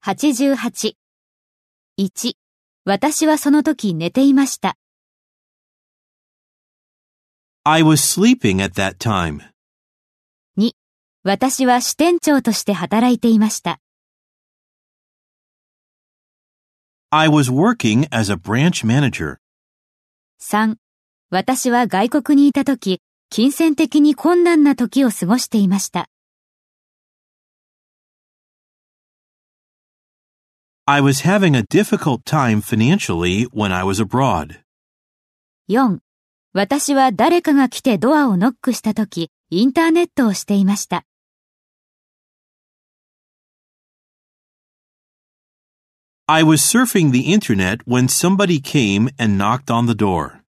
88。1、私はその時寝ていました。 I was sleeping at that time. 2、私は支店長として働いていました。 I was working as a branch manager. 3、私は外国にいた時、金銭的に困難な時を過ごしていました。 I was having a difficult time financially when I was abroad. 4、私は誰かが来てドアをノックした時、インターネットをしていました。 I was surfing the internet when somebody came and knocked on the door.